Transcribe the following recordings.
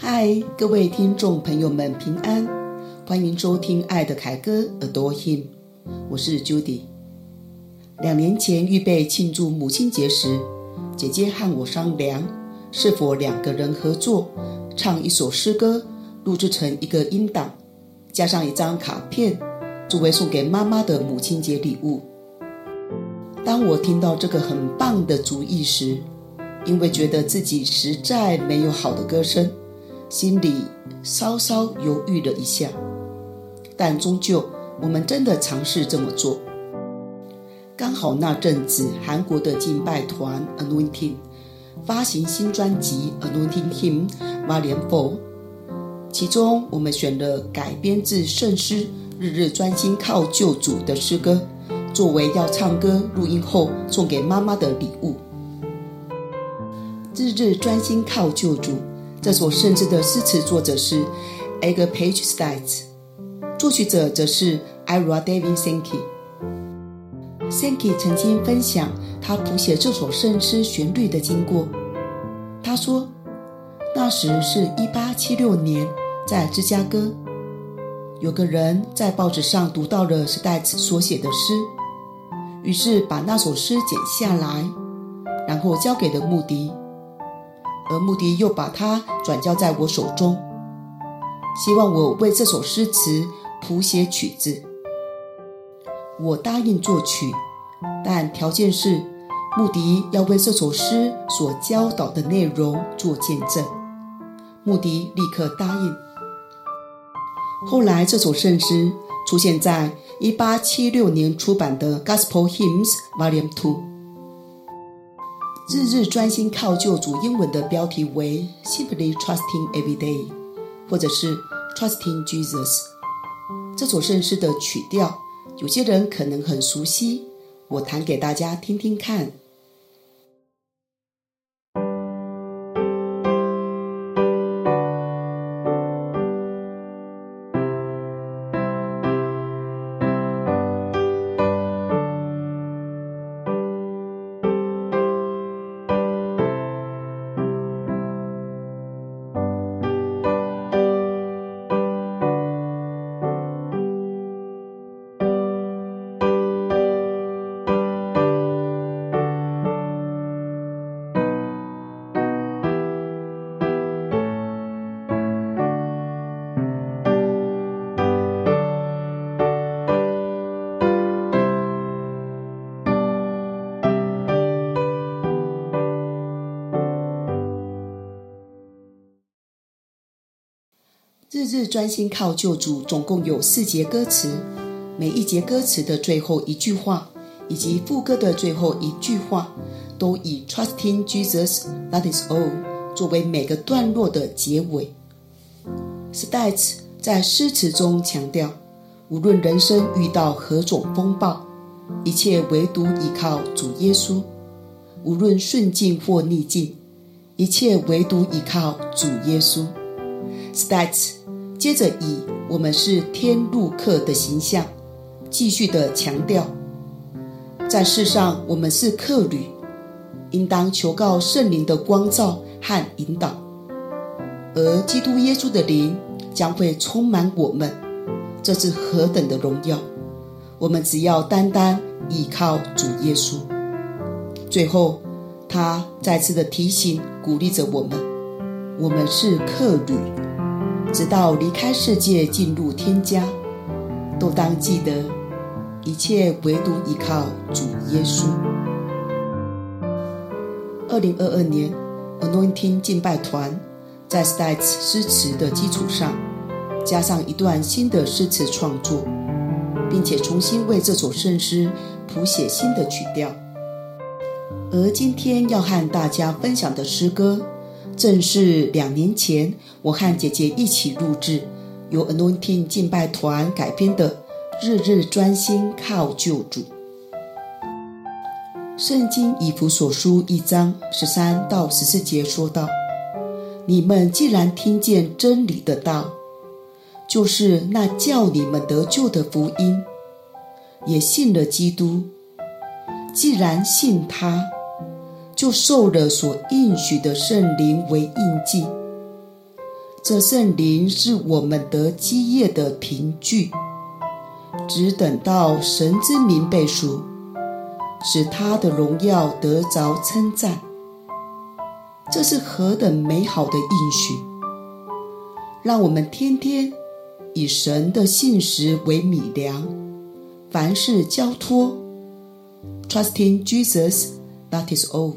嗨，各位聽眾朋友們平安，歡迎收聽愛的凱歌 Adore Him， 我是 Judy。2年前預備慶祝母親節時，姐姐和我商量是否2個人合作唱一首詩歌，錄製成一個音檔，加上一張卡片，作為送給媽媽的母親節禮物。當我聽到這個很棒的主意時，因為覺得自己實在沒有好的歌聲，心裡稍稍猶豫了一下，但終究我們真的嘗試這麼做。剛好那陣子韓國的敬拜團 Anointing 發行新專輯 Anointing Hymn Volume 4， 其中我們選了改編自聖詩日日專心靠救主的詩歌，作為要唱歌錄音後送給媽媽的禮物。日日專心靠救主這首聖詩的詩詞作者是 Agapage Stites， 作曲者則是 Ira David Sankey。Sankey 曾經分享他譜寫這首聖詩旋律的經過。他說，那時是1876年，在芝加哥，有個人在報紙上讀到了 Stites 所寫的詩，於是把那首詩剪下來，然後交給了穆迪，而穆迪又把它轉交在我手中，希望我為這首詩詞譜寫曲子。我答應作曲，但條件是穆迪要為這首詩所教導的內容做見證。穆迪立刻答應。後來這首聖詩出現在1876年出版的 Gospel Hymns Volume 2。日日專心靠救主英文的標題為 Simply Trusting Every Day， 或者是 Trusting Jesus。 這首聖詩的曲調有些人可能很熟悉，我彈給大家聽聽看。日日專心靠救主總共有4節歌詞，每一節歌詞的最後一句話以及副歌的最後一句話都以 Trusting Jesus, that is all 作為每個段落的結尾。Stites 在詩詞中強調，無論人生遇到何種風暴，一切唯獨依靠主耶穌；無論順境或逆境，一切唯獨依靠主耶穌。Stites 接着以我們是天路客的形象，繼續的強調，在世上我們是客旅，應當求告聖靈的光照和引導，而基督耶穌的靈將會充滿我們，這是何等的榮耀！我們只要單單依靠主耶穌。最後他再次的提醒鼓勵着我們是客旅，直到離開世界進入天家，都當記得一切唯獨依靠主耶穌。2022年 Anointing 敬拜團在 Stites 詩詞的基礎上，加上一段新的詩詞創作，並且重新為這首聖詩譜寫新的曲調。而今天要和大家分享的詩歌，正是2年前我和姐姐一起錄製，由 Anointing 敬拜團改編的《日日專心靠救主》。聖經以弗所書1章13到14節說道：你們既然聽見真理的道，就是那叫你們得救的福音，也信了基督，既然信他，就受了所應許的聖靈為印記。 這聖靈是我們得基業的憑據，只等到神之名被贖，使他的榮耀得着稱讚。這是何等美好的應許！讓我們天天以神的信實為米糧，凡事交託。Trusting Jesus, that is all.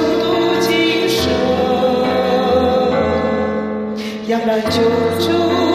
仰赖救主。